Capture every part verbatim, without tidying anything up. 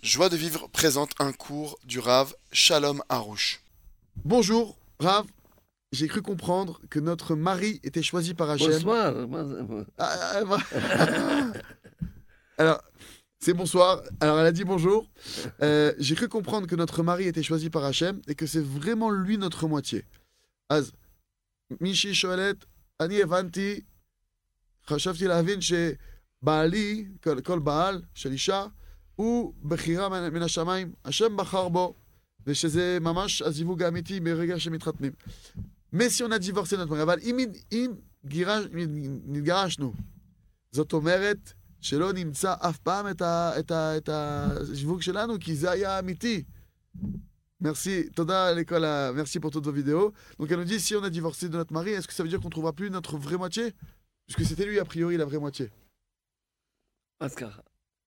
Joie de vivre présente un cours du Rav Shalom Harouche. Bonjour, Rav. J'ai cru comprendre que notre mari était choisi par Hachem. Bonsoir. Ah, ah, ah. Alors, c'est bonsoir. Alors, elle a dit bonjour. Euh, J'ai cru comprendre que notre mari était choisi par Hachem et que c'est vraiment lui notre moitié. Az, Mishi Shoelet, Ani Evanti, חשבתי להבין שבעלי, כל, כל בעל של אישה, הוא בחירה מן, מן השמיים, השם בחר בו, ושזה ממש הזיווג האמיתי ברגע שמתחתנים. Mais si on a divorcé notre mari, אבל אם, אם גירש, נתגרשנו, זאת אומרת שלא נמצא אף פעם את, ה, את, ה, את הזיווג שלנו, כי זה היה אמיתי. Merci, Toda l'école, merci pour toutes vos vidéos. Donc elle nous dit, si on a divorcé de notre mari, est-ce que ça veut dire qu'on ne trouvera plus notre vraie moitié? Puisque c'était lui, a priori, la vraie moitié. אז ככה,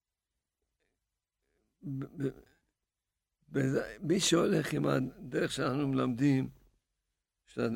מי שהולך עם הדרך שאנחנו מלמדים, של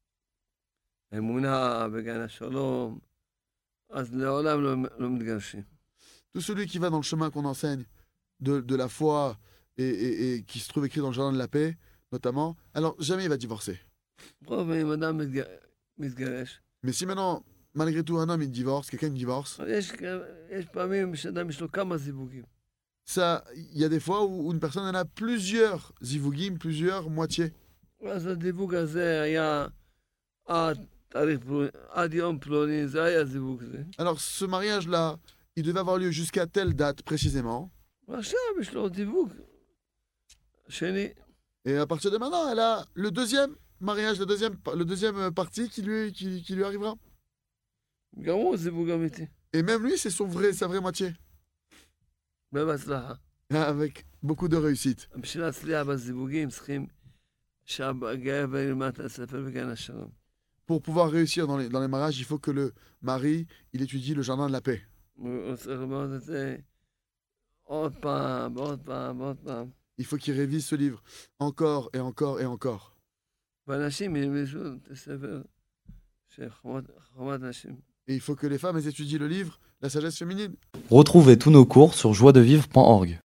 האמונה בגן השלום, אז לעולם לא, לא מתגרשים. Tout celui qui va dans le chemin qu'on enseigne, de, de la foi, et, et, et qui se trouve écrit dans le jardin de la paix, notamment, alors jamais il va divorcer. רוב אם אדם מתגרש, Mais si maintenant, malgré tout, un homme il divorce, quelqu'un divorce, יש, יש פעמים שאדם יש לו כמה זיווגים. ça, il y a des fois où une personne elle a plusieurs zivugim, plusieurs moitiés. אז הדיווג הזה היה עד תאריך פלוני, עד יום פלוני, זה היה זיווג זה. Alors ce mariage-là, il devait avoir lieu jusqu'à telle date précisément. ועכשיו יש לו דיווג שני. Et à partir de maintenant, elle a le deuxième mariage, le deuxième, le deuxième partie qui lui, qui, qui lui arrivera. גם הוא זיווג אמיתי. Et même lui, c'est son vrai, sa vraie moitié. בהצלחה. Avec beaucoup de réussite. בשביל להצליח בזיווגים צריכים שהגבר ילמד את הספר בגן השלום. Pour pouvoir réussir dans les, dans les mariages, il faut que le mari, il étudie le jardin de la paix. הוא צריך ללמוד את זה עוד פעם, עוד פעם, עוד פעם. Il faut qu'il révise ce livre encore et encore et encore. ואנשים ילמדו את הספר של חומת נשים. Et il faut que les femmes elles étudient le livre, la sagesse féminine. Retrouvez tous nos cours sur joie de vivre point org.